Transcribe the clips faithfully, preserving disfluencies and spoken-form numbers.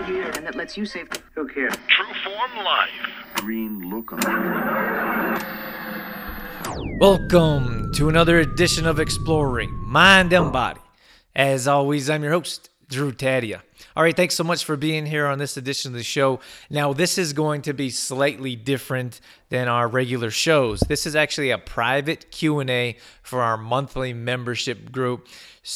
here and that lets you save. Who cares? Trueform Life. Green look on Welcome to another edition of Exploring Mind and Body. As always, I'm your host, Drew Tadia. All right, thanks so much for being here on this edition of the show. Now, this is going to be slightly different than our regular shows. This is actually a private Q and A for our monthly membership group.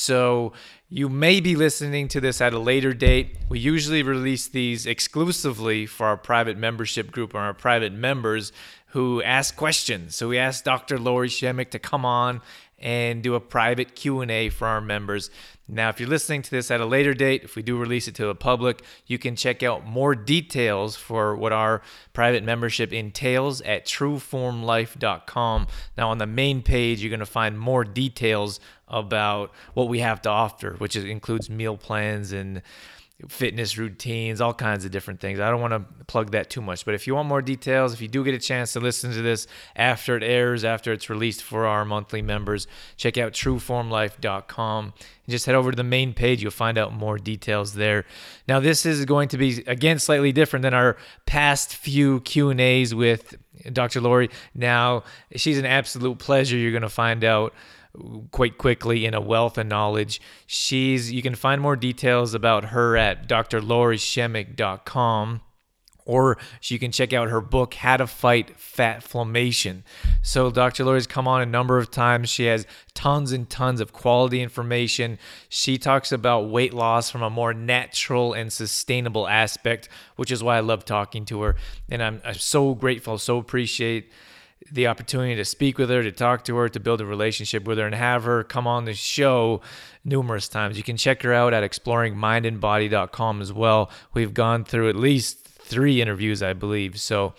So you may be listening to this at a later date. We usually release these exclusively for our private membership group or our private members who ask questions. So we asked Doctor Lori Shemek to come on and do a private Q and A for our members. Now, if you're listening to this at a later date, if we do release it to the public, you can check out more details for what our private membership entails at trueform life dot com. Now, on the main page, you're going to find more details about what we have to offer, which is, includes meal plans and fitness routines, all kinds of different things. I don't want to plug that too much, but if you want more details, if you do get a chance to listen to this after it airs, after it's released for our monthly members, check out trueform life dot com and just head over to the main page. You'll find out more details there. Now, this is going to be, again, slightly different than our past few Q and A's with Doctor Lori. Now, she's an absolute pleasure. You're going to find out quite quickly in a wealth of knowledge. She's you can find more details about her at d r lori shemek dot com, or you can check out her book, How to Fight Fatflammation. So Doctor Lori's come on a number of times. She has tons and tons of quality information. She talks about weight loss from a more natural and sustainable aspect, which is why I love talking to her. And I'm, I'm so grateful, so appreciate the opportunity to speak with her, to talk to her, to build a relationship with her, and have her come on the show numerous times. You can check her out at exploring mind and body dot com as well. We've gone through at least three interviews, I believe. So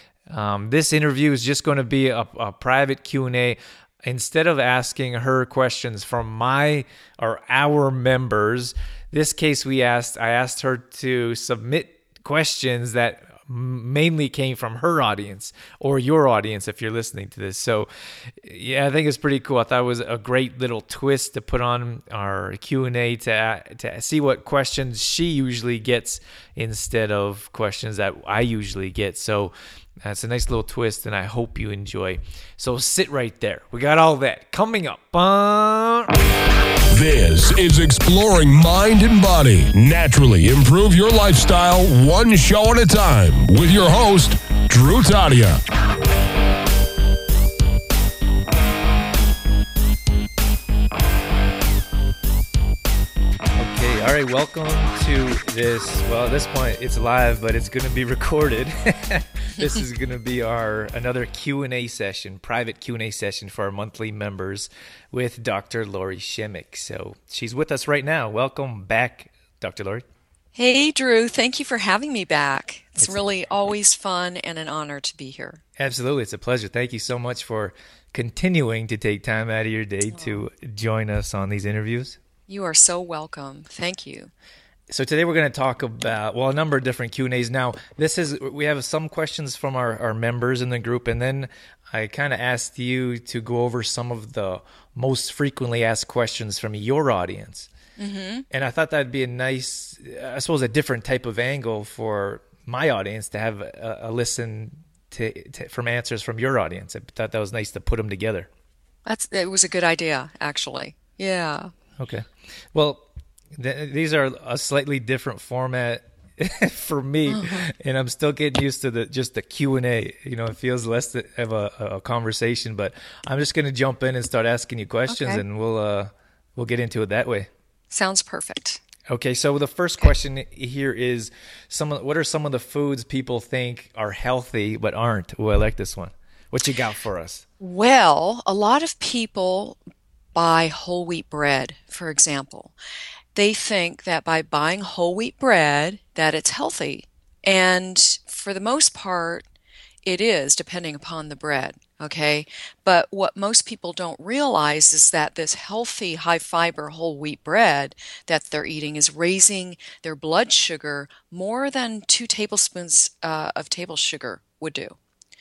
um, this interview is just going to be a, a private Q and A. Instead of asking her questions from my or our members, this case we asked, I asked her to submit questions that mainly came from her audience or your audience if you're listening to this. So yeah, I think it's pretty cool. I thought it was a great little twist to put on our Q and A to to see what questions she usually gets instead of questions that I usually get. So that's a nice little twist, and I hope you enjoy. So sit right there. We got all that coming up. Uh... This is Exploring Mind and Body. Naturally improve your lifestyle one show at a time with your host, Drew Tadia. Okay, all right, welcome to this. Well, at this point, it's live, but it's going to be recorded. This is going to be our another Q and A session, private Q and A session for our monthly members with Doctor Lori Shemek. So she's with us right now. Welcome back, Doctor Lori. Hey, Drew. Thank you for having me back. It's, it's really always fun and an honor to be here. Absolutely. It's a pleasure. Thank you so much for continuing to take time out of your day oh. to join us on these interviews. You are so welcome. Thank you. So today we're going to talk about, well, a number of different Q and A's. Now, this is, we have some questions from our, our members in the group, and then I kind of asked you to go over some of the most frequently asked questions from your audience. Mm-hmm. And I thought that'd be a nice, I suppose, a different type of angle for my audience to have a, a listen to, to from answers from your audience. I thought that was nice to put them together. That's It was a good idea, actually. Yeah. Okay. Well, th- these are a slightly different format for me, uh-huh. and I'm still getting used to the just the Q and A. You know, it feels less of a, a conversation, but I'm just going to jump in and start asking you questions, okay. and we'll uh, we'll get into it that way. Sounds perfect. Okay, so the first question here is: some of, what are some of the foods people think are healthy but aren't? Oh, I like this one. What you got for us? Well, a lot of people buy whole wheat bread, for example. They think that by buying whole wheat bread that it's healthy. And for the most part, it is, depending upon the bread, okay? But what most people don't realize is that this healthy, high-fiber whole wheat bread that they're eating is raising their blood sugar more than two tablespoons uh, of table sugar would do.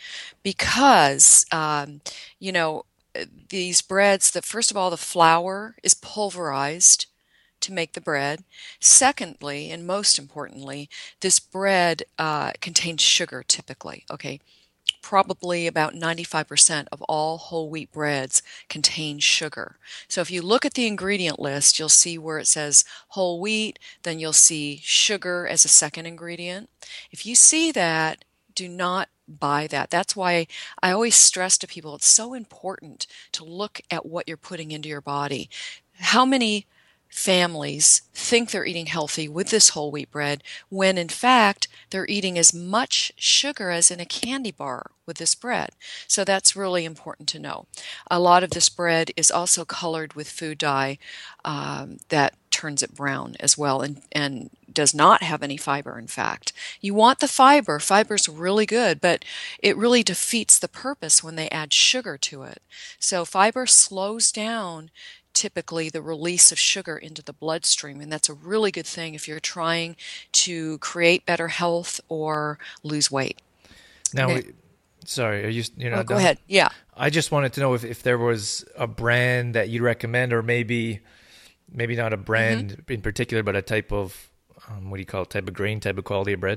Because, um, you know, these breads, that first of all, the flour is pulverized to make the bread. Secondly, and most importantly, this bread uh, contains sugar typically, okay? Probably about ninety-five percent of all whole wheat breads contain sugar. So if you look at the ingredient list, you'll see where it says whole wheat, then you'll see sugar as a second ingredient. If you see that, do not buy that. That's why I always stress to people it's so important to look at what you're putting into your body. How many families think they're eating healthy with this whole wheat bread when in fact they're eating as much sugar as in a candy bar with this bread. So that's really important to know. A lot of this bread is also colored with food dye um, that turns it brown as well and, and does not have any fiber, in fact. You want the fiber. Fiber's really good, but it really defeats the purpose when they add sugar to it. So fiber slows down typically the release of sugar into the bloodstream, and that's a really good thing if you're trying to create better health or lose weight. Now, Okay. we, sorry, are you you're not Oh, go done? ahead. Yeah. I just wanted to know if, if there was a brand that you'd recommend, or maybe maybe not a brand Mm-hmm. in particular, but a type of um, what do you call it? Type of grain, type of quality of bread.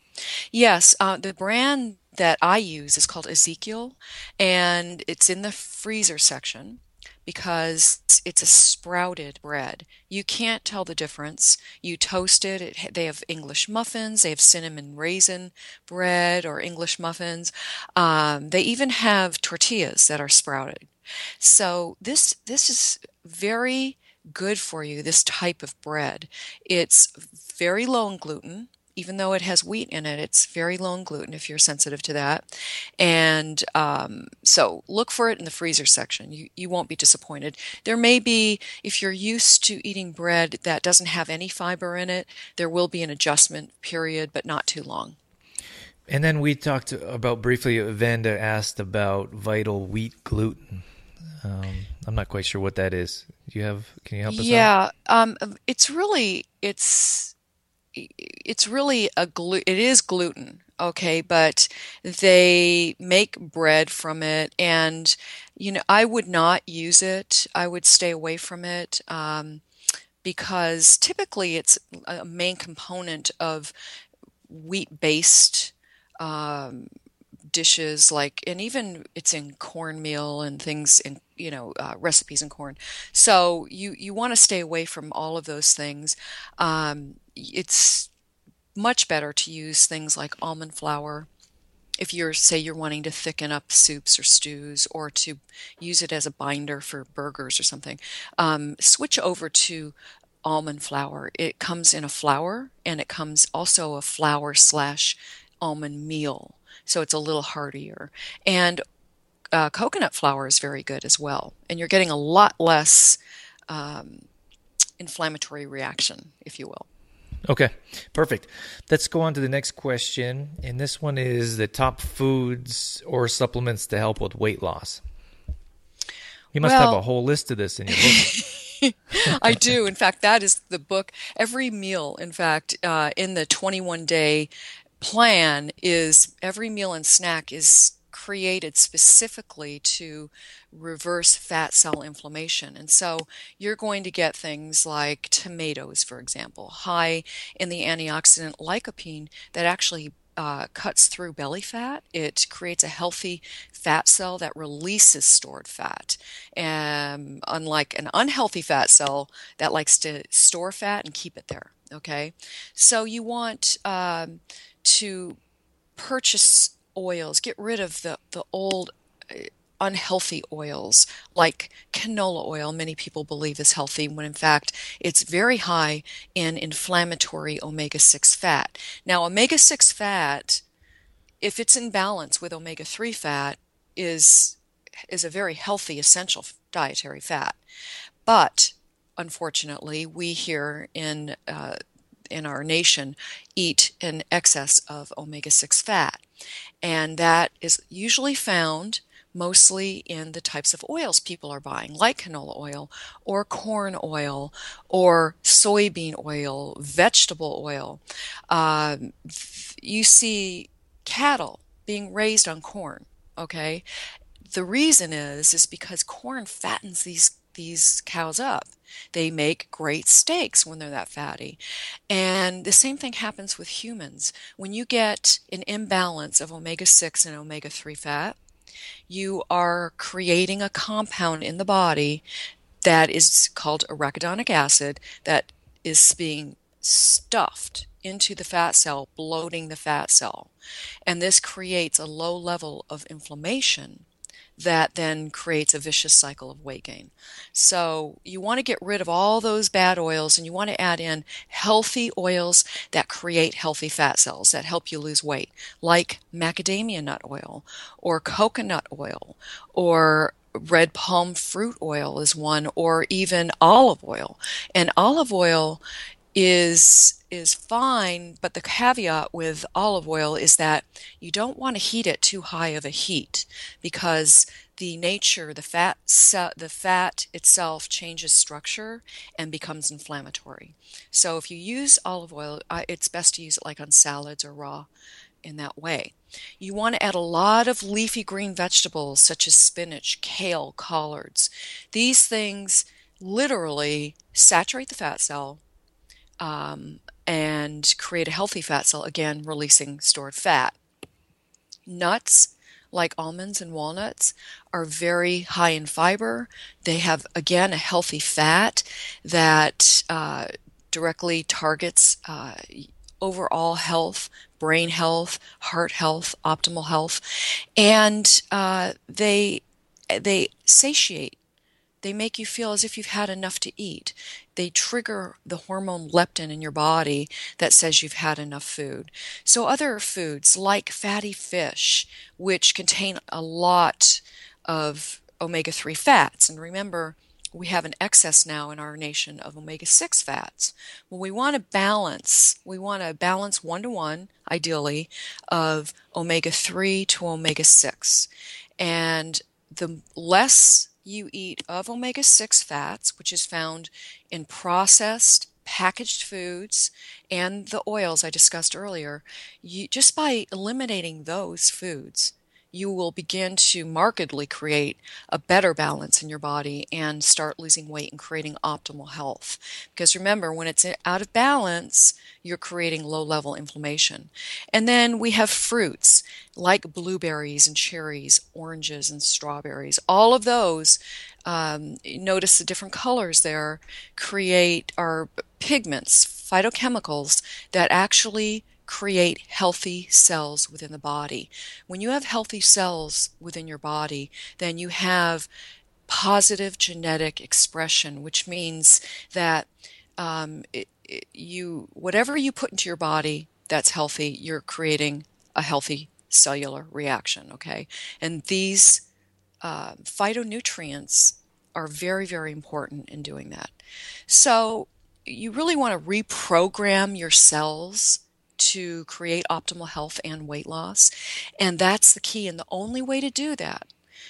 Yes, uh, the brand that I use is called Ezekiel, and it's in the freezer section because it's a sprouted bread. You can't tell the difference. You toast it. it they have English muffins. They have cinnamon raisin bread or English muffins. Um, they even have tortillas that are sprouted. So this this is very good for you, this type of bread. It's very low in gluten. Even though it has wheat in it, it's very low in gluten if you're sensitive to that. And um, so look for it in the freezer section. You, you won't be disappointed. There may be, if you're used to eating bread that doesn't have any fiber in it, there will be an adjustment period, but not too long. And then we talked about briefly, Vanda asked about vital wheat gluten. Um, I'm not quite sure what that is. Do you have, can you help us out? Yeah, um, it's really, it's, it's really a glu- it is gluten, okay, but they make bread from it, and you know I would not use it. I would stay away from it um, because typically it's a main component of wheat-based um, dishes, like, and even it's in cornmeal and things in you know uh, recipes in corn. So you you want to stay away from all of those things. Um, it's much better to use things like almond flour if you're, say, you're wanting to thicken up soups or stews, or to use it as a binder for burgers or something. Um, switch over to almond flour. It comes in a flour, and it comes also a flour slash almond meal, so it's a little heartier. And uh, coconut flour is very good as well, and you're getting a lot less um, inflammatory reaction, if you will. Okay, perfect. Let's go on to the next question. And this one is the top foods or supplements to help with weight loss. You must Well, have a whole list of this in your book. I do. In fact, that is the book. Every meal, in fact, uh, in the twenty-one day plan is every meal and snack is created specifically to reverse fat cell inflammation. And so you're going to get things like tomatoes, for example, high in the antioxidant lycopene that actually uh, cuts through belly fat. It creates a healthy fat cell that releases stored fat. Um, unlike an unhealthy fat cell that likes to store fat and keep it there. Okay, so you want um, to purchase oils, get rid of the, the old uh, unhealthy oils like canola oil. Many people believe is healthy when in fact it's very high in inflammatory omega six fat. Now, omega six fat, if it's in balance with omega three fat, is is a very healthy essential dietary fat. But unfortunately, we here in uh, in our nation eat an excess of omega six fat. And that is usually found mostly in the types of oils people are buying, like canola oil or corn oil or soybean oil, vegetable oil. Um, you see cattle being raised on corn, okay? The reason is is because corn fattens these these cows up. They make great steaks when they're that fatty. And the same thing happens with humans. When you get an imbalance of omega six and omega three fat, you are creating a compound in the body that is called arachidonic acid that is being stuffed into the fat cell, bloating the fat cell. And this creates a low level of inflammation that then creates a vicious cycle of weight gain. So you want to get rid of all those bad oils, and you want to add in healthy oils that create healthy fat cells that help you lose weight, like macadamia nut oil or coconut oil or red palm fruit oil is one, or even olive oil. And olive oil is is fine, but the caveat with olive oil is that you don't want to heat it too high of a heat, because the nature, the fat, the fat itself changes structure and becomes inflammatory. So if you use olive oil, it's best to use it like on salads or raw in that way. You want to add a lot of leafy green vegetables such as spinach, kale, collards. These things literally saturate the fat cell, Um, and create a healthy fat cell, again, releasing stored fat. Nuts, like almonds and walnuts, are very high in fiber. They have, again, a healthy fat that uh, directly targets uh, overall health, brain health, heart health, optimal health, and uh, they they satiate. They make you feel as if you've had enough to eat. They trigger the hormone leptin in your body that says you've had enough food. So other foods like fatty fish, which contain a lot of omega three fats, and remember, we have an excess now in our nation of omega six fats. Well, we want to balance. We want to balance one-to-one, ideally, of omega three to omega six. And the less you eat of omega six fats, which is found in processed, packaged foods, and the oils I discussed earlier, you, just by eliminating those foods, you will begin to markedly create a better balance in your body and start losing weight and creating optimal health. Because remember, when it's out of balance, you're creating low-level inflammation. And then we have fruits like blueberries and cherries, oranges and strawberries. All of those, um, notice the different colors there, create are pigments, phytochemicals that actually create healthy cells within the body. When you have healthy cells within your body, then you have positive genetic expression, which means that um, it, it, you whatever you put into your body that's healthy, you're creating a healthy cellular reaction, okay? And these uh, phytonutrients are very, very important in doing that. So you really want to reprogram your cells to create optimal health and weight loss. And that's the key. And the only way to do that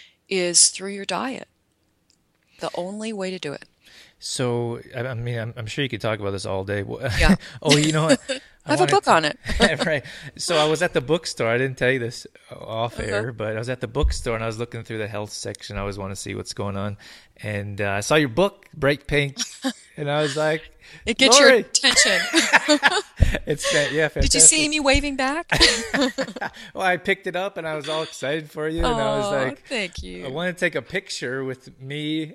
is through your diet. The only way to do it. So, I mean, I'm, I'm sure you could talk about this all day. Yeah. Oh, you know what? I have a book to, on it. Right. So I was at the bookstore. I didn't tell you this off air, uh-huh. but I was at the bookstore and I was looking through the health section. I always want to see what's going on. And uh, I saw your book, Bright Pink, and I was like, it gets Lori. your attention. It's yeah, fantastic. Did you see me waving back? Well, I picked it up and I was all excited for you, oh, and I was like, "Thank you." I want to take a picture with me.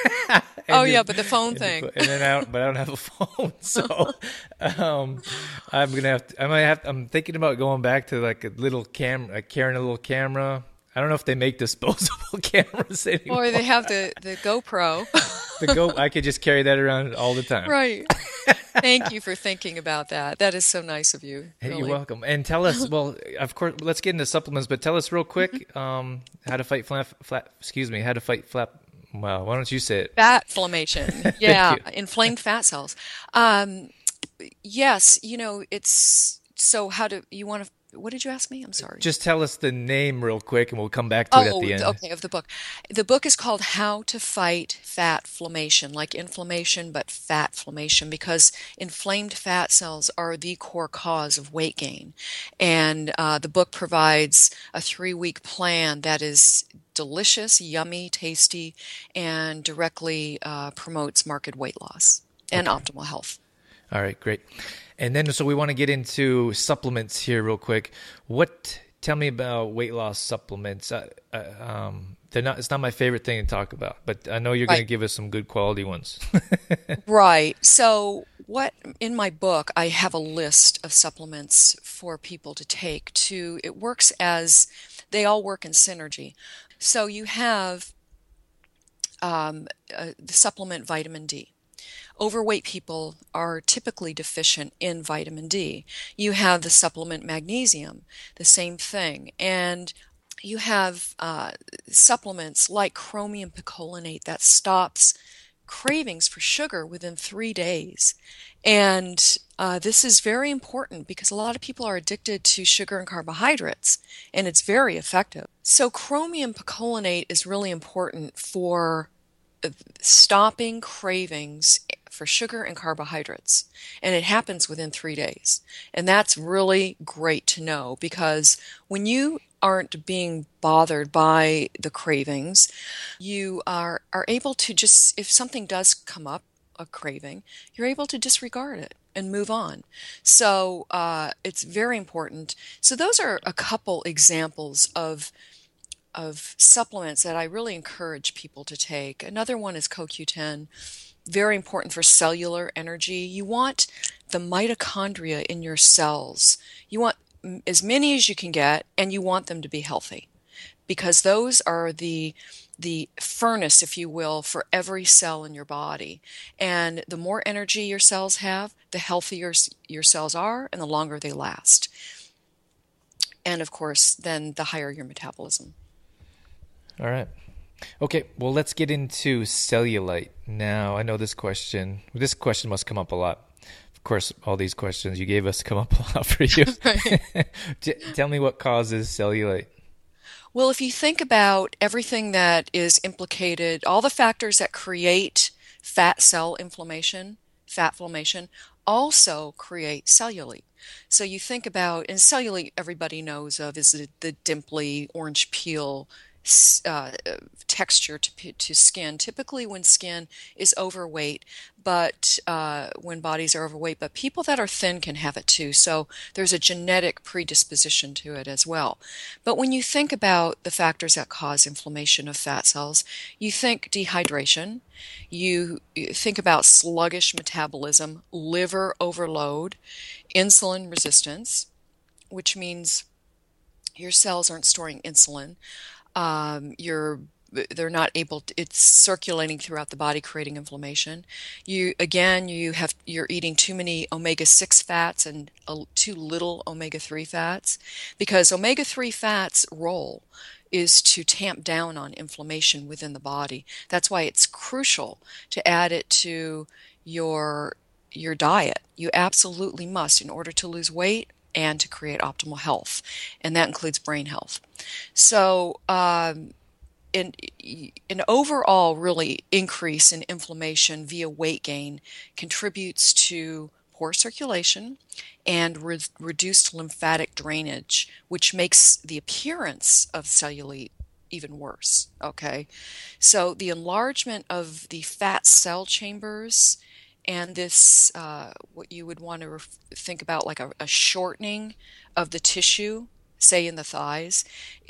Oh the, yeah, but the phone and thing. The, and then I don't, but I don't have a phone, so um, I'm gonna have. To, I might have. I'm thinking about going back to like a little camera, like carrying a little camera. I don't know if they make disposable cameras anymore. Or they have the, the GoPro. The Go, I could just carry that around all the time. Right. Thank you for thinking about that. That is so nice of you. Hey, really. You're welcome. And tell us, well, of course, let's get into supplements, but tell us real quick um, how to fight flap, flap, excuse me, how to fight flap. Well, why don't you say it? Fat inflammation. Yeah, inflamed fat cells. Um, yes, you know, it's so how do you want to? What did you ask me? I'm sorry. Just tell us the name real quick, and we'll come back to it at the end. Oh, okay, of the book. The book is called How to Fight Fat Inflammation, like inflammation, but fat inflammation, because inflamed fat cells are the core cause of weight gain. And uh, the book provides a three-week plan that is delicious, yummy, tasty, and directly uh, promotes marked weight loss and okay. optimal health. All right, great. And then, so we want to get into supplements here real quick. What? Tell me about weight loss supplements. Uh, uh, um, they're not. It's not my favorite thing to talk about, but I know you're right. going to give us some good quality ones. Right. So, what in my book, I have a list of supplements for people to take. To it works as they all work in synergy. So you have um, uh, the supplement vitamin D. Overweight people are typically deficient in vitamin D. You have the supplement magnesium, the same thing. And you have uh, supplements like chromium picolinate that stops cravings for sugar within three days. And uh, this is very important because a lot of people are addicted to sugar and carbohydrates, and it's very effective. So chromium picolinate is really important for stopping cravings for sugar and carbohydrates, and it happens within three days. And that's really great to know, because when you aren't being bothered by the cravings, you are, are able to just, if something does come up, a craving, you're able to disregard it and move on. So uh, it's very important. So those are a couple examples of of supplements that I really encourage people to take. Another one is C O Q ten, very important for cellular energy. You want the mitochondria in your cells. You want as many as you can get, and you want them to be healthy, because those are the the furnace, if you will, for every cell in your body. And the more energy your cells have, the healthier your cells are, and the longer they last. And of course, then the higher your metabolism. All right. Okay, well, let's get into cellulite now. I know this question, this question must come up a lot. Of course, all these questions you gave us come up a lot for you. Tell me what causes cellulite. Well, if you think about everything that is implicated, all the factors that create fat cell inflammation, fat inflammation, also create cellulite. So you think about, and cellulite everybody knows of is the, the dimply orange peel Uh, texture to to skin. Typically when skin is overweight, but uh, when bodies are overweight, but people that are thin can have it too. So there's a genetic predisposition to it as well. But when you think about the factors that cause inflammation of fat cells, you think dehydration, you, you think about sluggish metabolism, liver overload, insulin resistance, which means your cells aren't storing insulin. Um, you're, they're not able to, it's circulating throughout the body, creating inflammation. You, again, you have, you're eating too many omega six fats and uh, too little omega three fats, because omega three fats role is to tamp down on inflammation within the body. That's why it's crucial to add it to your, your diet. You absolutely must, in order to lose weight and to create optimal health, and that includes brain health. So um, in, an overall really increase in inflammation via weight gain contributes to poor circulation and re- reduced lymphatic drainage, which makes the appearance of cellulite even worse. Okay, so the enlargement of the fat cell chambers and this, uh, what you would want to ref- think about like a, a shortening of the tissue, say in the thighs,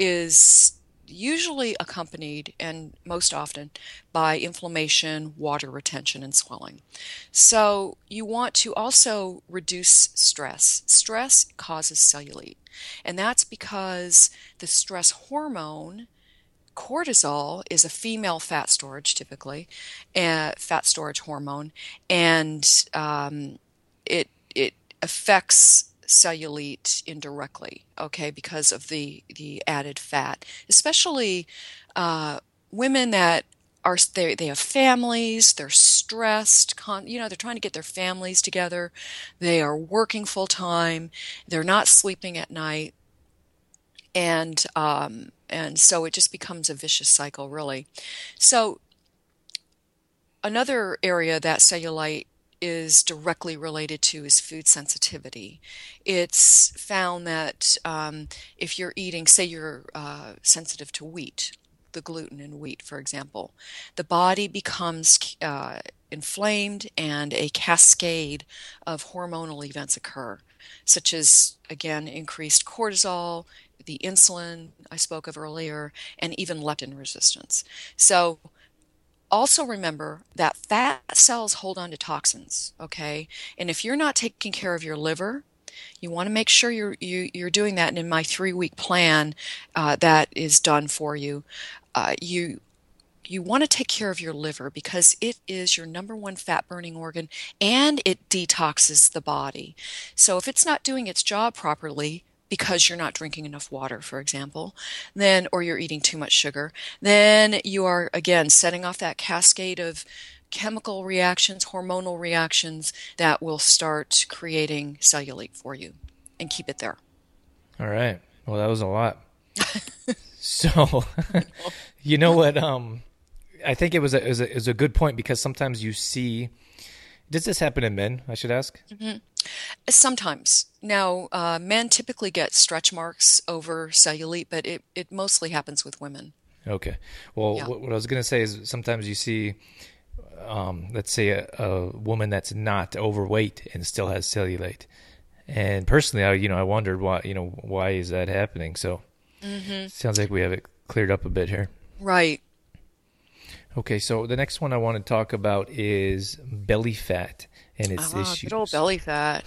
is usually accompanied, and most often, by inflammation, water retention, and swelling. So you want to also reduce stress. Stress causes cellulite, and that's because the stress hormone cortisol is a female fat storage, typically, uh, fat storage hormone, and um, it it affects cellulite indirectly, okay, because of the the added fat, especially uh, women that are they they have families, they're stressed. Con- you know, they're trying to get their families together. They are working full time. They're not sleeping at night. And um, and so it just becomes a vicious cycle, really. So another area that cellulite is directly related to is food sensitivity. It's found that um, if you're eating, say you're uh, sensitive to wheat, the gluten in wheat, for example, the body becomes uh, inflamed and a cascade of hormonal events occur, such as, again, increased cortisol, the insulin I spoke of earlier, and even leptin resistance. So also remember that fat cells hold on to toxins, okay? And if you're not taking care of your liver, you want to make sure you're you, you're doing that. And in my three-week plan uh, that is done for you, uh, you you want to take care of your liver because it is your number one fat-burning organ and it detoxes the body. So if it's not doing its job properly, because you're not drinking enough water, for example, then, or you're eating too much sugar, then you are, again, setting off that cascade of chemical reactions, hormonal reactions that will start creating cellulite for you and keep it there. All right. Well, that was a lot. So, you know what? Um, I think it was a, it was a, it was a good point because sometimes you see, does this happen in men, I should ask? Mm-hmm. Sometimes. Now, uh, men typically get stretch marks over cellulite, but it, it mostly happens with women. Okay. Well, Yeah. what, what I was going to say is sometimes you see, um, let's say, a, a woman that's not overweight and still has cellulite. And personally, I, you know, I wondered why, you know, why is that happening? So Mm-hmm. sounds like we have it cleared up a bit here. Right. Okay. So the next one I want to talk about is belly fat and its Ah, issues. good old belly fat.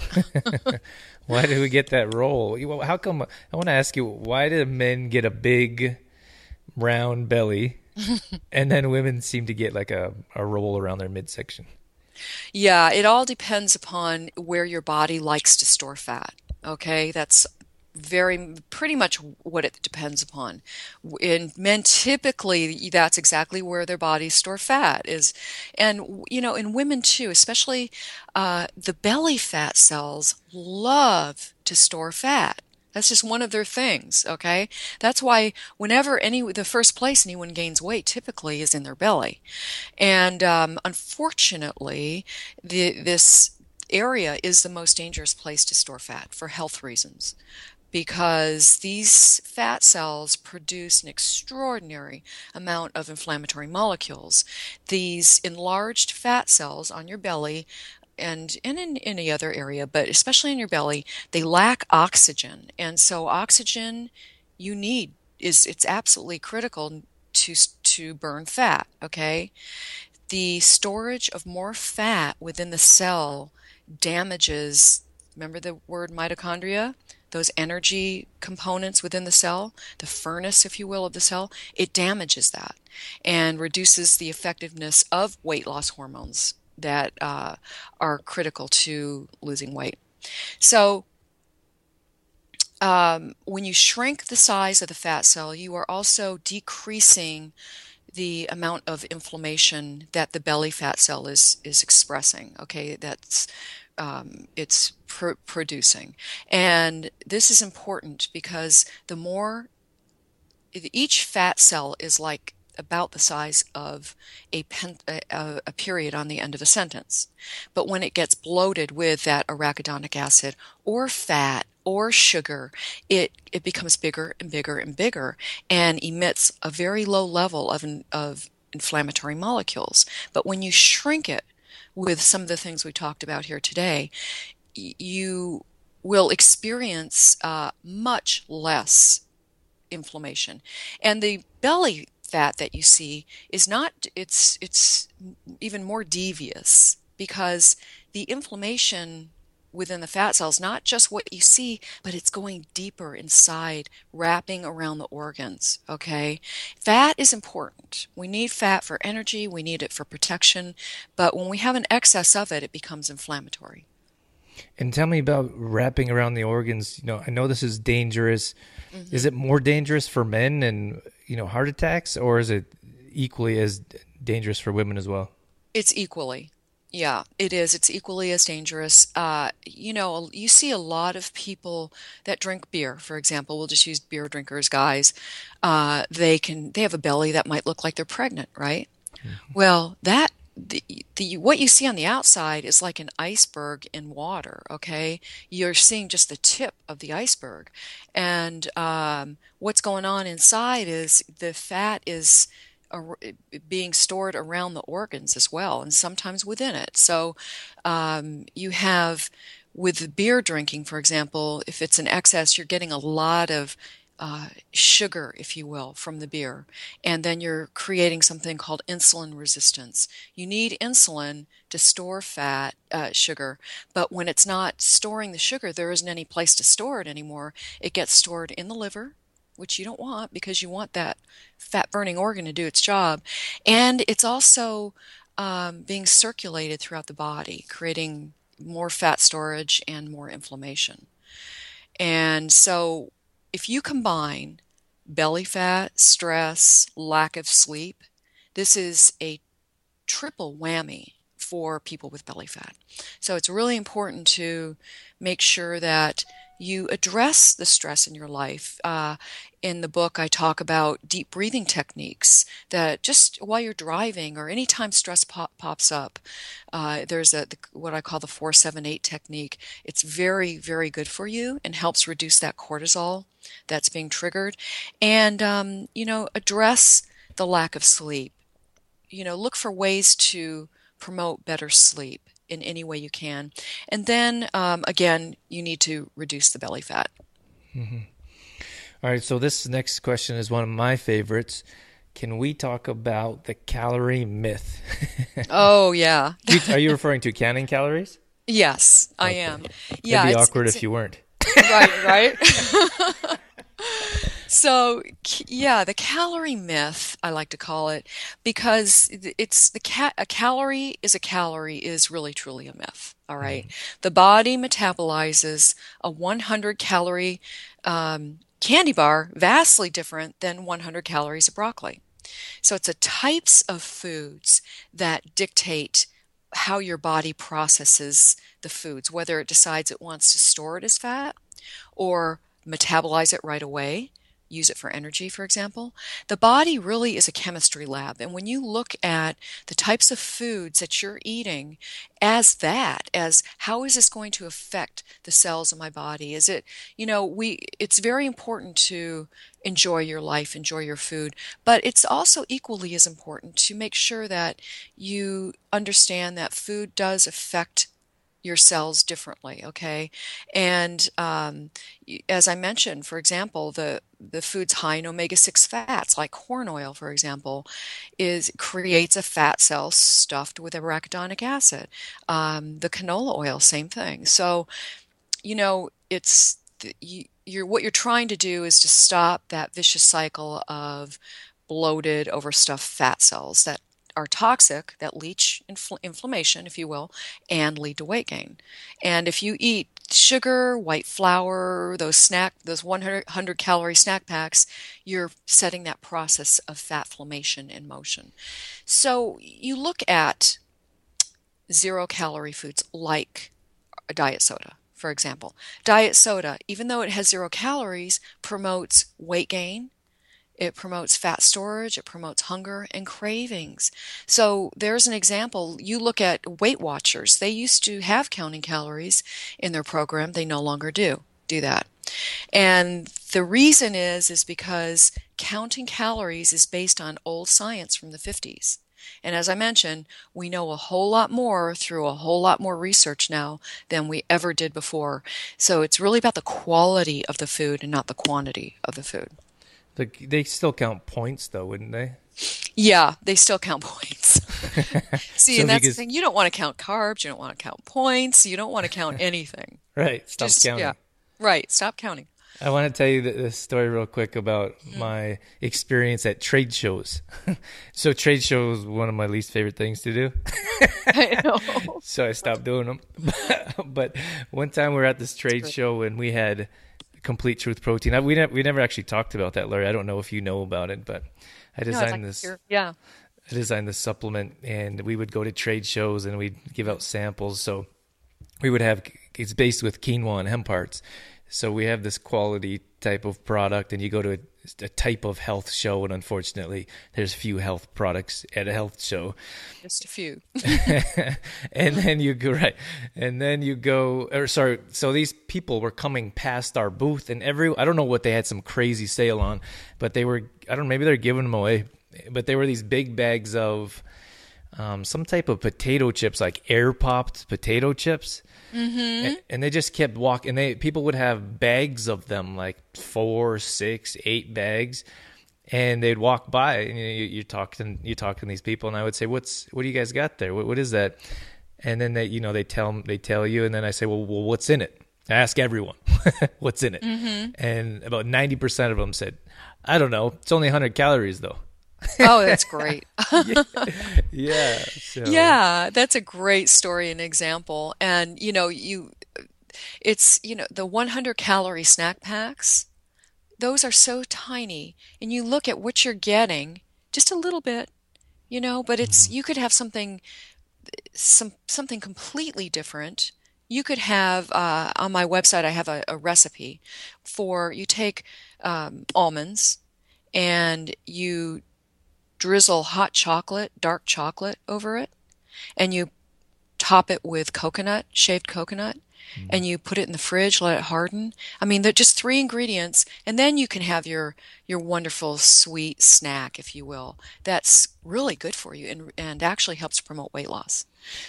Why do we get that role? You- How come? I want to ask you, why do men get a big, round belly, and then women seem to get like a, a roll around their midsection? Yeah, it all depends upon where your body likes to store fat. Okay, that's very pretty much what it depends upon. In men, typically, that's exactly where their bodies store fat is, and you know, in women too, especially uh, the belly fat cells love to store fat. That's just one of their things, okay? That's why whenever any the first place anyone gains weight typically is in their belly. And um, unfortunately, the, this area is the most dangerous place to store fat for health reasons because these fat cells produce an extraordinary amount of inflammatory molecules. These enlarged fat cells on your belly and, and in any other area, but especially in your belly, they lack oxygen. And so oxygen you need is it's absolutely critical to to burn fat, okay? The storage of more fat within the cell damages, remember the word mitochondria? Those energy components within the cell, the furnace, if you will, of the cell, it damages that and reduces the effectiveness of weight loss hormones that uh, are critical to losing weight. So um, when you shrink the size of the fat cell, you are also decreasing the amount of inflammation that the belly fat cell is is expressing. Okay, that's um, it's pr- producing, and this is important because the more each fat cell is like about the size of a, pen, a, a period on the end of a sentence. But when it gets bloated with that arachidonic acid or fat or sugar, it, it becomes bigger and bigger and bigger and emits a very low level of, of inflammatory molecules. But when you shrink it with some of the things we talked about here today, you will experience uh, much less inflammation. And the belly fat that you see is not, it's it's even more devious because the inflammation within the fat cells, not just what you see, but it's going deeper inside, wrapping around the organs, okay? Fat is important. We need fat for energy, we need it for protection, but when we have an excess of it, it becomes inflammatory. And tell me about wrapping around the organs. You know, I know this is dangerous. Mm-hmm. Is it more dangerous for men and, you know, heart attacks, or is it equally as dangerous for women as well? It's equally. Yeah, it is. It's equally as dangerous. Uh, you know, you see a lot of people that drink beer, for example. We'll just use beer drinkers, guys. Uh, they can they have a belly that might look like they're pregnant, right? Well, that the, the what you see on the outside is like an iceberg in water, okay? You're seeing just the tip of the iceberg. And um, what's going on inside is the fat is ar- being stored around the organs as well, and sometimes within it. So um, you have, with the beer drinking, for example, if it's an excess, you're getting a lot of uh, sugar, if you will, from the beer. And then you're creating something called insulin resistance. You need insulin to store fat, uh, sugar, but when it's not storing the sugar, there isn't any place to store it anymore. It gets stored in the liver, which you don't want because you want that fat-burning organ to do its job. And it's also um, being circulated throughout the body, creating more fat storage and more inflammation. And so if you combine belly fat, stress, lack of sleep, this is a triple whammy for people with belly fat. So it's really important to make sure that you address the stress in your life. Uh, in the book, I talk about deep breathing techniques that just while you're driving or anytime stress pop, pops up, uh, there's a the, what I call the four seven eight technique. It's very, very good for you and helps reduce that cortisol that's being triggered. And, um, you know, address the lack of sleep. You know, look for ways to promote better sleep in any way you can. And then, um, again, you need to reduce the belly fat. Mm-hmm. All right, so this next question is one of my favorites. Can we talk about the calorie myth? Oh, yeah. Are you referring to counting calories? Yes, I okay. am. Yeah, It'd be it's, awkward it's, if you weren't. Right, right. So, yeah, the calorie myth, I like to call it, because it's the ca- a calorie is a calorie is really truly a myth. All right. Mm-hmm. The body metabolizes a one hundred calorie um, candy bar vastly different than one hundred calories of broccoli. So it's the types of foods that dictate how your body processes the foods, whether it decides it wants to store it as fat or metabolize it right away, use it for energy, for example. The body really is a chemistry lab. And when you look at the types of foods that you're eating as that, as how is this going to affect the cells of my body? Is it, you know, we, it's very important to enjoy your life, enjoy your food, but it's also equally as important to make sure that you understand that food does affect your cells differently, okay? And um, as I mentioned, for example, the, the foods high in omega six fats, like corn oil, for example, is creates a fat cell stuffed with arachidonic acid. Um, the canola oil, same thing. So, you know, it's you, you're what you're trying to do is to stop that vicious cycle of bloated, overstuffed fat cells that are toxic, that leach infl- inflammation, if you will, and lead to weight gain. And if you eat sugar, white flour, those snack, those one hundred calorie snack packs, you're setting that process of fat formation in motion. So you look at zero calorie foods like a diet soda, for example. Diet soda, even though it has zero calories, promotes weight gain. It promotes fat storage, it promotes hunger and cravings. So there's an example. You look at Weight Watchers. They used to have counting calories in their program. They no longer do do that. And the reason is, is because counting calories is based on old science from the fifties. And as I mentioned, we know a whole lot more through a whole lot more research now than we ever did before. So it's really about the quality of the food and not the quantity of the food. They still count points, though, wouldn't they? Yeah, they still count points. See, so and that's because... the thing. You don't want to count carbs. You don't want to count points. You don't want to count anything. Right. Stop Just, counting. Yeah. Right. Stop counting. I want to tell you this story real quick about mm. my experience at trade shows. So trade shows one of my least favorite things to do. I know. So I stopped doing them. But one time we were at this trade show and we had Complete Truth Protein. I, we, ne- we never actually talked about that, Larry. I don't know if you know about it, but I designed no, this. Yeah. I designed the supplement, and we would go to trade shows and we'd give out samples. So we would have, it's based with quinoa and hemp parts. So we have this quality type of product, and you go to a, a type of health show, and unfortunately there's few health products at a health show. Just a few. And then you go, right. And then you go, or sorry. So these people were coming past our booth, and every, I don't know what they had some crazy sale on, but they were, I don't know, maybe they're giving them away, but they were these big bags of um, some type of potato chips, like air popped potato chips. Mm-hmm. And, and they just kept walking. They people would have bags of them, like four, six, eight bags, and they'd walk by. And you know, you, you're talking, you're talking to these people, and I would say, "What's what do you guys got there? What, what is that?" And then they, you know, they tell they tell you, and then I say, "Well, well what's in it?" I ask everyone, "What's in it?" Mm-hmm. And about ninety percent of them said, "I don't know. It's only one hundred calories, though." Oh, that's great. yeah. Yeah, so. Yeah, that's a great story and example. And, you know, you, it's, you know, the one hundred calorie snack packs, those are so tiny. And you look at what you're getting, just a little bit, you know, but it's, mm-hmm. you could have something, some, something completely different. You could have, uh, on my website, I have a, a recipe for, you take um, almonds and you drizzle hot chocolate, dark chocolate over it, and you top it with coconut, shaved coconut, mm. and you put it in the fridge, let it harden. I mean, they're just three ingredients, and then you can have your your wonderful sweet snack, if you will. That's really good for you and and actually helps promote weight loss.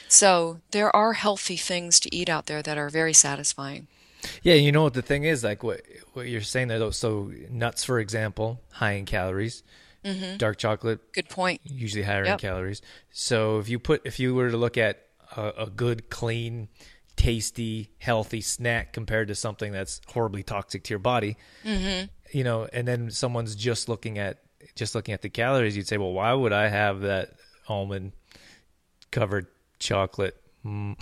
So there are healthy things to eat out there that are very satisfying. Yeah, you know what the thing is, like what what you're saying there, though. So nuts, for example, high in calories. Mm-hmm. Dark chocolate, good point. Usually higher yep. in calories. So if you put, if you were to look at a, a good, clean, tasty, healthy snack compared to something that's horribly toxic to your body, mm-hmm. you know, and then someone's just looking at just looking at the calories, you'd say, well, why would I have that almond covered chocolate? Mm.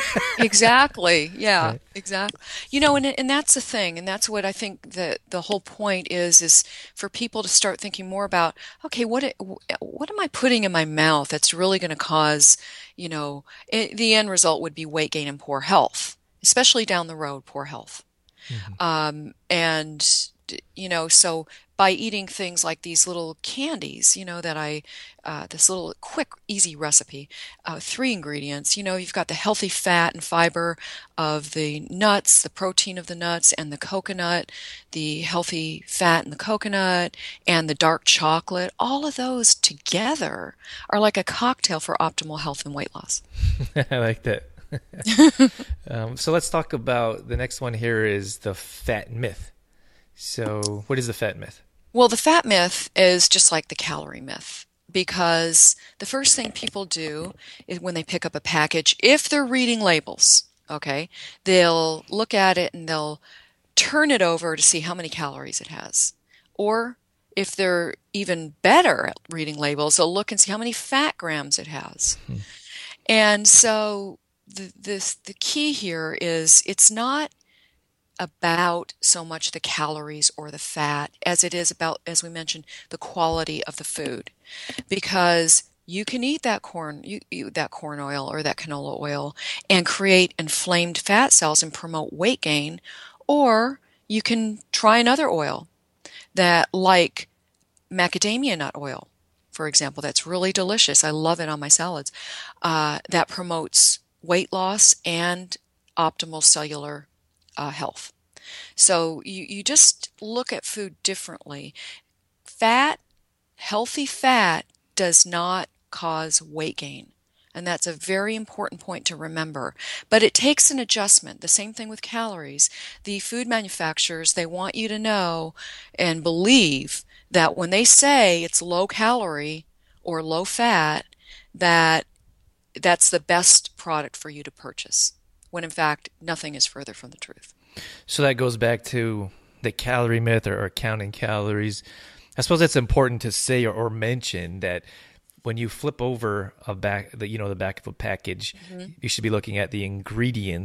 Exactly. Yeah, right. Exactly. You know, and and that's the thing, and that's what I think that the whole point is, is for people to start thinking more about, okay, what it, what am I putting in my mouth that's really going to cause, you know, it, the end result would be weight gain and poor health, especially down the road, poor health. Mm-hmm. Um, and, you know, so by eating things like these little candies, you know, that I, uh, this little quick, easy recipe, uh, three ingredients, you know, you've got the healthy fat and fiber of the nuts, the protein of the nuts and the coconut, the healthy fat in the coconut and the dark chocolate. All of those together are like a cocktail for optimal health and weight loss. I like that. um, so let's talk about the next one here is the fat myth. So what is the fat myth? Well, the fat myth is just like the calorie myth, because the first thing people do is when they pick up a package, if they're reading labels, okay, they'll look at it and they'll turn it over to see how many calories it has. Or if they're even better at reading labels, they'll look and see how many fat grams it has. Hmm. And so the, this, the key here is it's not about so much the calories or the fat as it is about, as we mentioned, the quality of the food. Because you can eat that corn, you, you, that corn oil or that canola oil and create inflamed fat cells and promote weight gain, or you can try another oil that, like macadamia nut oil, for example, that's really delicious. I love it on my salads. Uh, that promotes weight loss and optimal cellular Uh, health. So you, you just look at food differently. Fat, healthy fat does not cause weight gain. And that's a very important point to remember. But it takes an adjustment. The same thing with calories. The food manufacturers, they want you to know and believe that when they say it's low calorie or low fat, that that's the best product for you to purchase, when in fact nothing is further from the truth. So that goes back to the calorie myth, or, or counting calories. I suppose it's important to say or, or mention that when you flip over a back, the, you know, the back of a package, mm-hmm. you should be looking at the ingredients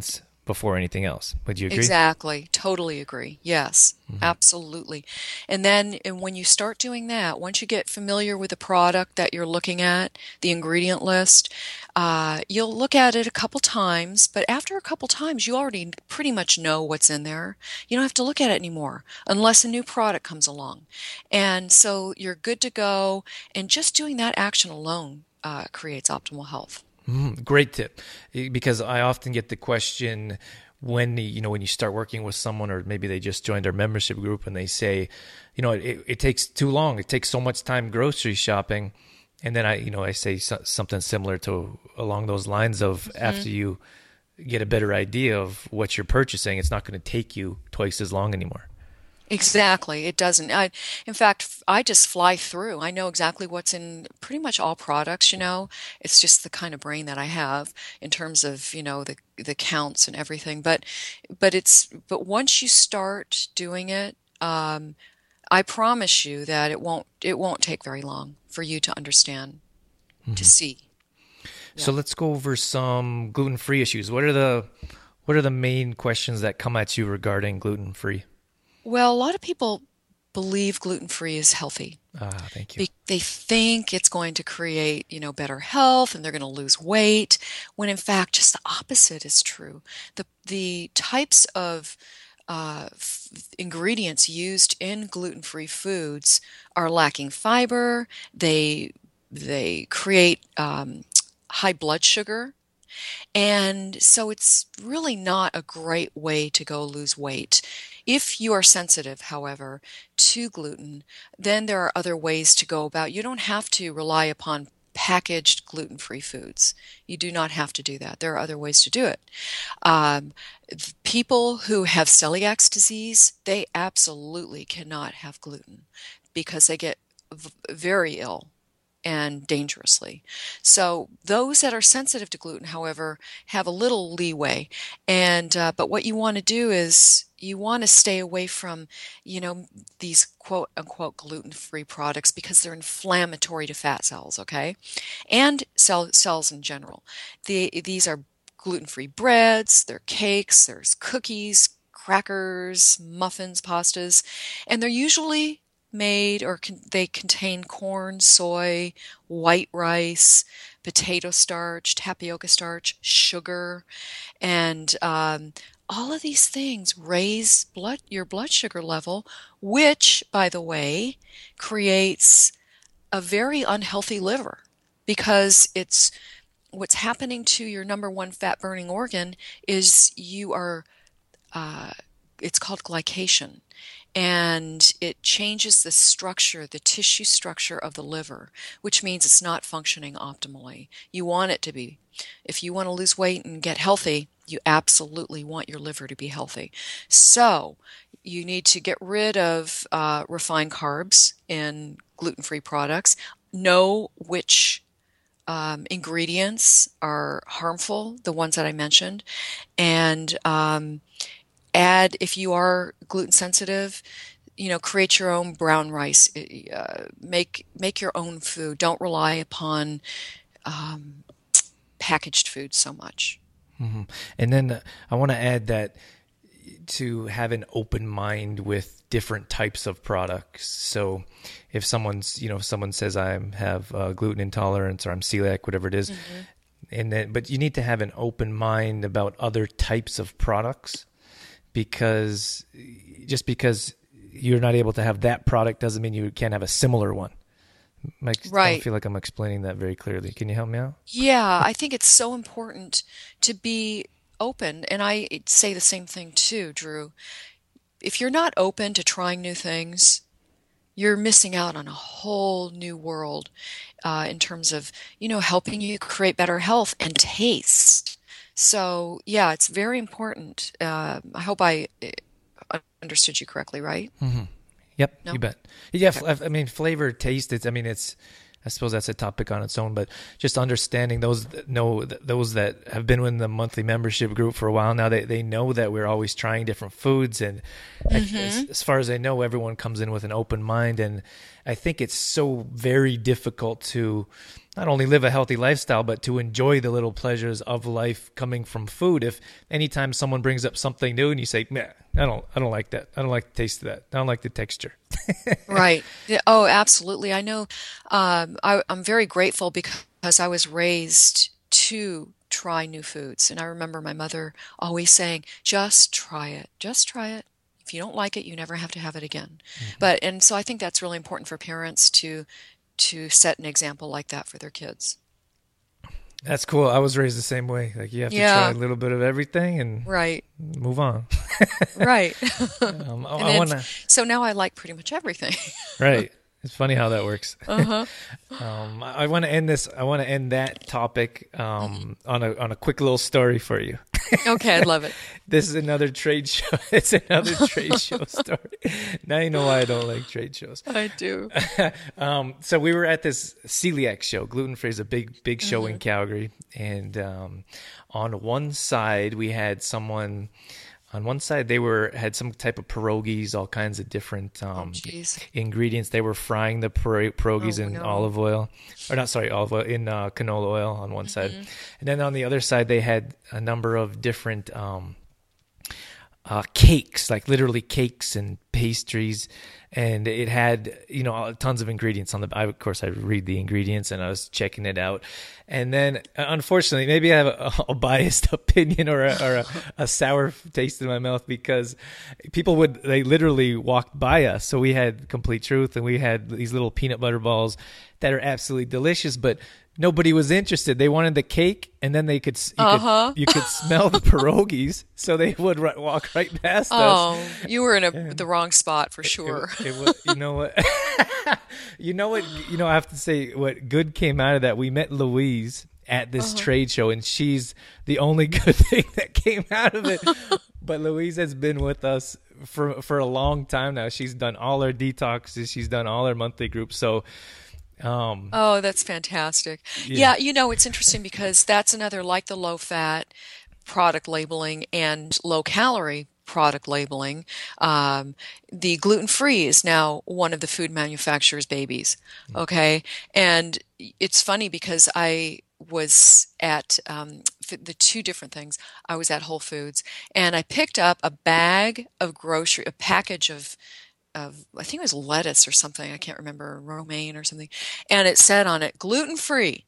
before anything else. Would you agree? Exactly. Totally agree. Yes, mm-hmm. Absolutely. And then and when you start doing that, once you get familiar with the product that you're looking at, the ingredient list, uh, you'll look at it a couple times, but after a couple times, you already pretty much know what's in there. You don't have to look at it anymore unless a new product comes along. And so you're good to go. And just doing that action alone uh, creates optimal health. Mm, great tip, because I often get the question when you know when you start working with someone, or maybe they just joined our membership group, and they say, you know, it, it takes too long. It takes so much time grocery shopping, and then I, you know, I say so, something similar to along those lines of mm-hmm. after you get a better idea of what you're purchasing, it's not going to take you twice as long anymore. Exactly. It doesn't. I, in fact, I just fly through. I know exactly what's in pretty much all products, you know. It's just the kind of brain that I have in terms of, you know, the the counts and everything. But but it's but once you start doing it, um, I promise you that it won't it won't take very long for you to understand, mm-hmm. to see. Yeah. So let's go over some gluten-free issues. What are the what are the main questions that come at you regarding gluten-free? Well, a lot of people believe gluten-free is healthy. Ah, thank you. They think it's going to create, you know, better health and they're going to lose weight, when in fact just the opposite is true. The the types of uh, f- ingredients used in gluten-free foods are lacking fiber. They they create um, high blood sugar. And so it's really not a great way to go lose weight. If you are sensitive, however, to gluten, then there are other ways to go about. You don't have to rely upon packaged gluten-free foods. You do not have to do that. There are other ways to do it. Um, people who have celiac disease, they absolutely cannot have gluten because they get v- very ill and dangerously. So those that are sensitive to gluten, however, have a little leeway. And uh, but what you want to do is you want to stay away from, you know, these quote unquote gluten-free products because they're inflammatory to fat cells, okay, and cell cells in general. The, these are gluten-free breads, they're cakes, there's cookies, crackers, muffins, pastas, and they're usually made or con- they contain corn, soy, white rice, potato starch, tapioca starch, sugar, and um, all of these things raise blood your blood sugar level, which, by the way, creates a very unhealthy liver because it's what's happening to your number one fat burning organ is you are uh, it's called glycation. And it changes the structure, the tissue structure of the liver, which means it's not functioning optimally. You want it to be. If you want to lose weight and get healthy, you absolutely want your liver to be healthy. So you need to get rid of uh, refined carbs in gluten-free products. Know which um, ingredients are harmful, the ones that I mentioned, and um, add, if you are gluten sensitive, you know, create your own brown rice. Uh, make make your own food. Don't rely upon um, packaged food so much. Mm-hmm. And then uh, I want to add that to have an open mind with different types of products. So if someone's, you know, if someone says I have uh, gluten intolerance or I'm celiac, whatever it is, mm-hmm. and then, but you need to have an open mind about other types of products. Because just because you're not able to have that product doesn't mean you can't have a similar one. Like, right. I don't feel like I'm explaining that very clearly. Can you help me out? Yeah, I think it's so important to be open. And I say the same thing too, Drew. If you're not open to trying new things, you're missing out on a whole new world uh, in terms of, you know, helping you create better health and taste. So, yeah, it's very important. Uh, I hope I understood you correctly, right? Mm-hmm. Yep, no? You bet. Yeah, okay. I mean, flavor, taste, it's, I mean, it's, I suppose that's a topic on its own, but just understanding those that know those that have been in the monthly membership group for a while now, they, they know that we're always trying different foods. And mm-hmm. as, as far as I know, everyone comes in with an open mind. And I think it's so very difficult to not only live a healthy lifestyle, but to enjoy the little pleasures of life coming from food. If anytime someone brings up something new and you say, "Man, I don't, I don't like that. I don't like the taste of that. I don't like the texture." Right. Oh, absolutely. I know. Um, I, I'm very grateful because I was raised to try new foods, and I remember my mother always saying, "Just try it. Just try it. If you don't like it, you never have to have it again." Mm-hmm. But and so I think that's really important for parents to. to set an example like that for their kids. That's cool. I was raised the same way. Like you have to yeah. try a little bit of everything and right. move on. Right. um, I, I wanna... So now I like pretty much everything. Right. It's funny how that works. Uh-huh. um, I, I want to end this. I want to end that topic um, on a on a quick little story for you. Okay, I'd love it. This is another trade show. It's another trade show story. Now you know why I don't like trade shows. I do. um, so we were at this celiac show. Gluten Free is a big, big show mm-hmm. in Calgary. And um, on one side, we had someone... On one side, they were had some type of pierogies, all kinds of different um, oh, ingredients. They were frying the pierogies oh, in no. olive oil, or not, sorry, olive oil, in uh, canola oil on one mm-hmm. side. And then on the other side, they had a number of different um, uh, cakes, like literally cakes and pastries. And it had, you know, tons of ingredients on the, I, of course, I read the ingredients and I was checking it out. And then, unfortunately, maybe I have a, a biased opinion or, a, or a, a sour taste in my mouth because people would, they literally walked by us. So we had Complete Truth and we had these little peanut butter balls that are absolutely delicious, but nobody was interested. They wanted the cake, and then they could you, uh-huh. could, you could smell the pierogies, so they would r- walk right past oh, us. Oh, you were in a, the wrong spot for sure. It, it, it was, you know what? you know what? You know, I have to say what good came out of that. We met Louise at this uh-huh. trade show, and she's the only good thing that came out of it. But Louise has been with us for for a long time now. She's done all her detoxes. She's done all her monthly groups. So. Um, oh, that's fantastic. Yeah. yeah, you know, it's interesting because that's another, like the low-fat product labeling and low-calorie product labeling. Um, the gluten-free is now one of the food manufacturers' babies, okay? And it's funny because I was at um, the two different things. I was at Whole Foods, and I picked up a bag of grocery, a package of of, I think it was lettuce or something. I can't remember, romaine or something. And it said on it, gluten-free.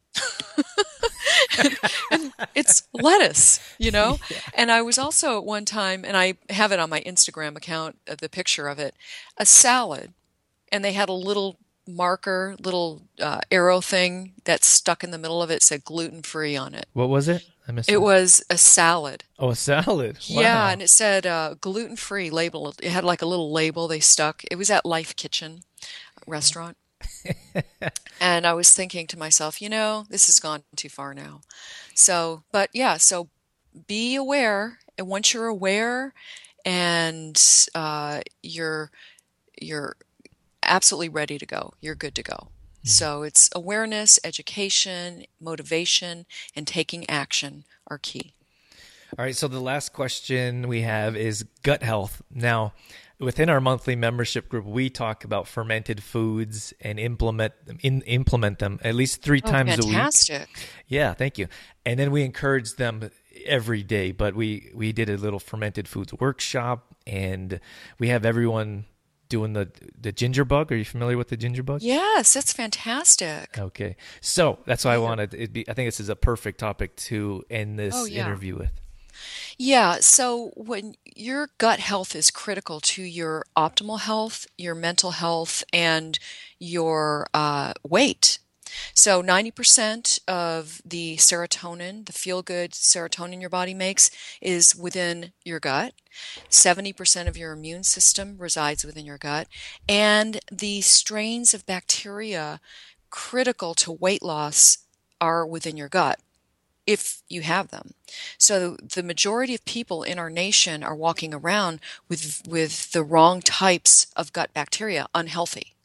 and, and it's lettuce, you know? Yeah. And I was also at one time, and I have it on my Instagram account, uh, the picture of it, a salad. And they had a little marker, little uh, arrow thing that stuck in the middle of it, said gluten-free on it. What was it? I missed it. It was a salad. Oh, a salad. Wow. Yeah, and it said uh, gluten-free label. It had like a little label they stuck. It was at Life Kitchen restaurant. And I was thinking to myself, you know, this has gone too far now. So, but yeah, so be aware. And once you're aware and uh, you're you're absolutely ready to go, you're good to go. So it's awareness, education, motivation, and taking action are key. All right. So the last question we have is gut health. Now, within our monthly membership group, we talk about fermented foods and implement them, in, implement them at least three oh, times fantastic. a week. Fantastic. Yeah, thank you. And then we encourage them every day. But we, we did a little fermented foods workshop, and we have everyone doing the the ginger bug. Are you familiar with the ginger bug? Yes, that's fantastic. Okay, so that's why I wanted it. Be I think this is a perfect topic to end this oh, yeah. interview with. Yeah. So when your gut health is critical to your optimal health, your mental health, and your uh, weight. So ninety percent of the serotonin, the feel-good serotonin your body makes, is within your gut. seventy percent of your immune system resides within your gut. And the strains of bacteria critical to weight loss are within your gut, if you have them. So the majority of people in our nation are walking around with with the wrong types of gut bacteria, unhealthy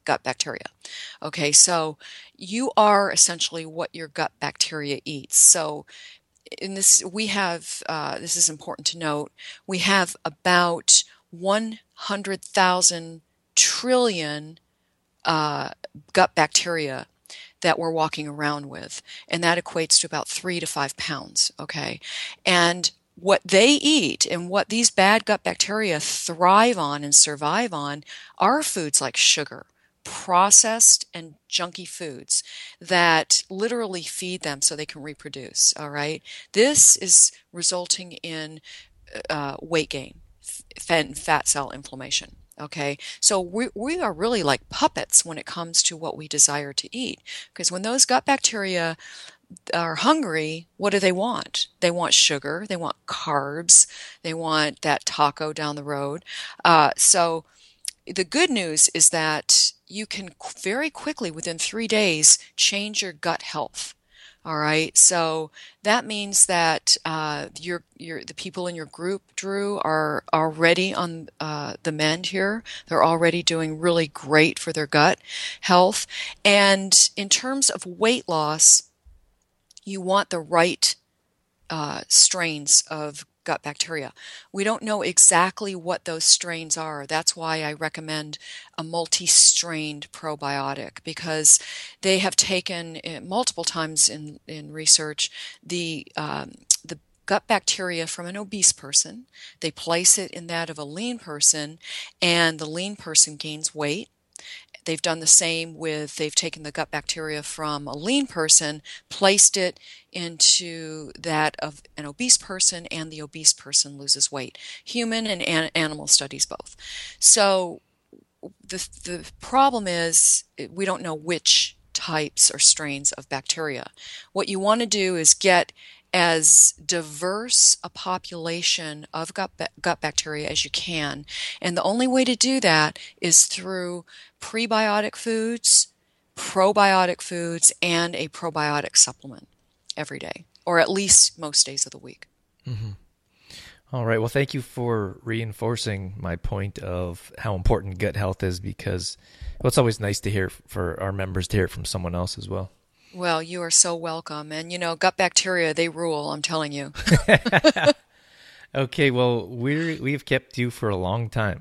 gut bacteria. Okay, so you are essentially what your gut bacteria eats. So in this, we have, uh, this is important to note, we have about one hundred thousand trillion uh, gut bacteria that we're walking around with, and that equates to about three to five pounds, okay? And what they eat and what these bad gut bacteria thrive on and survive on are foods like sugar, processed and junky foods that literally feed them so they can reproduce, all right? This is resulting in uh, weight gain, fat and fat cell inflammation. Okay, so we, we are really like puppets when it comes to what we desire to eat, because when those gut bacteria are hungry, what do they want? They want sugar, they want carbs, they want that taco down the road. Uh, so the good news is that you can very quickly, within three days, change your gut health. All right, so that means that uh, your your the people in your group, Drew, are already on uh, the mend here. They're already doing really great for their gut health. And in terms of weight loss, you want the right uh, strains of gut bacteria. We don't know exactly what those strains are. That's why I recommend a multi-strained probiotic, because they have taken uh, multiple times in, in research the um, the gut bacteria from an obese person. They place it in that of a lean person, and the lean person gains weight. They've done the same with, they've taken the gut bacteria from a lean person, placed it into that of an obese person, and the obese person loses weight. Human and an- animal studies both. So the the problem is we don't know which types or strains of bacteria. What you want to do is get as diverse a population of gut, gut bacteria as you can. And the only way to do that is through prebiotic foods, probiotic foods, and a probiotic supplement every day, or at least most days of the week. Mm-hmm. All right. Well, thank you for reinforcing my point of how important gut health is, because well, it's always nice to hear for our members to hear it from someone else as well. Well, you are so welcome. And, you know, gut bacteria, they rule, I'm telling you. Okay, well, we're, we've kept you for a long time.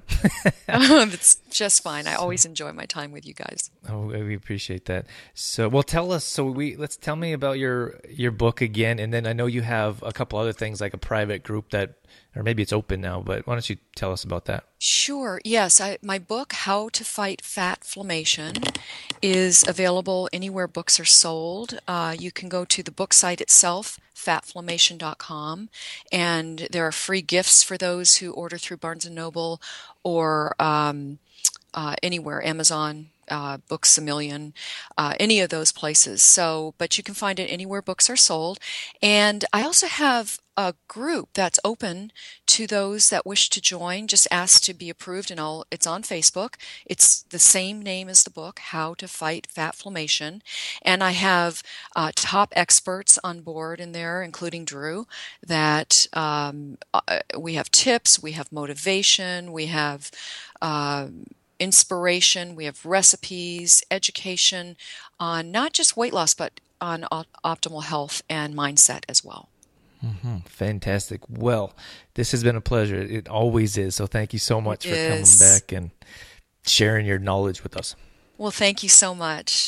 It's just fine. I always enjoy my time with you guys. Oh, we appreciate that. So, well, tell us, so we, let's tell me about your, your book again. And then I know you have a couple other things like a private group that, or maybe it's open now, but why don't you tell us about that? Sure. Yes. I, my book, How to Fight Fatflammation, is available anywhere books are sold. Uh, you can go to the book site itself, fatflammation dot com, and there are free gifts for those who order through Barnes and Noble or um, uh, anywhere, Amazon, uh, Books A Million, uh, any of those places. So, but you can find it anywhere books are sold. And I also have a group that's open to those that wish to join. Just ask to be approved, and I'll, it's on Facebook. It's the same name as the book, How to Fight Fatflammation. And I have uh, top experts on board in there, including Drew, that um, uh, we have tips, we have motivation, we have uh, inspiration, we have recipes, education on not just weight loss, but on op- optimal health and mindset as well. Mm-hmm. Fantastic. Well, this has been a pleasure. It always is. So thank you so much it for is. coming back and sharing your knowledge with us. Well, thank you so much.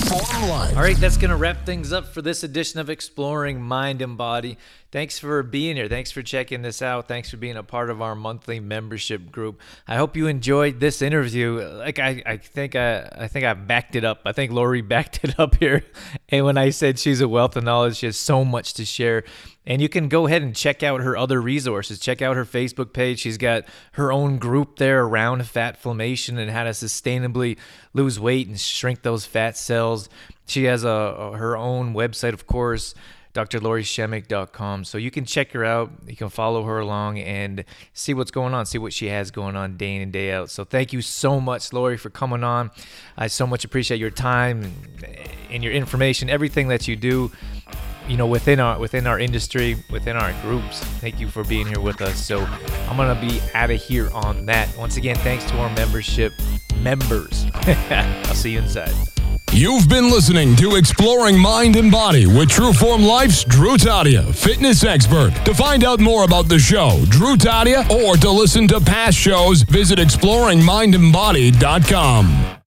All right, that's going to wrap things up for this edition of Exploring Mind and Body. Thanks for being here. Thanks for checking this out. Thanks for being a part of our monthly membership group. I hope you enjoyed this interview. Like I, I think I, I think I backed it up. I think Lori backed it up here. And when I said she's a wealth of knowledge, she has so much to share. And you can go ahead and check out her other resources. Check out her Facebook page. She's got her own group there around fatflammation and how to sustainably lose weight and shrink those fat cells. She has a, a her own website, of course, D R Lori Shemek dot com. So you can check her out. You can follow her along and see what's going on, see what she has going on day in and day out. So thank you so much, Lori, for coming on. I so much appreciate your time and, and your information, everything that you do, you know, within our within our industry, within our groups. Thank you for being here with us. So I'm going to be out of here on that. Once again, thanks to our membership members. I'll see you inside. You've been listening to Exploring Mind and Body with Trueform Life's Drew Tadia, fitness expert. To find out more about the show, Drew Tadia, or to listen to past shows, visit exploring mind and body dot com.